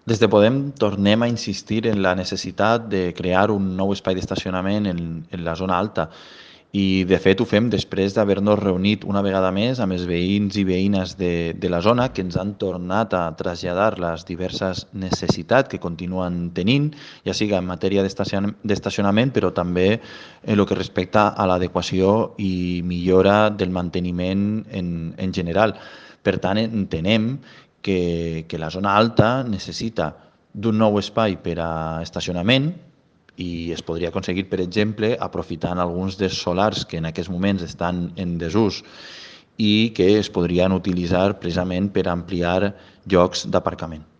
Des de Podem tornem a insistir en la necessitat de crear un nou espai d'estacionament en la zona alta i, de fet, ho fem després d'haver-nos reunit una vegada més amb els veïns i veïnes de la zona que ens han tornat a traslladar les diverses necessitats que continuen tenint, ja sigui en matèria d'estacionament, però també en el que respecta a l'adequació i millora del manteniment en general. Per tant, entenem que la zona alta necessita d'un nou espai per a estacionament i es podria aconseguir, per exemple, aprofitant alguns dels solars que en aquests moments estan en desús i que es podrien utilitzar precisament per ampliar llocs d'aparcament.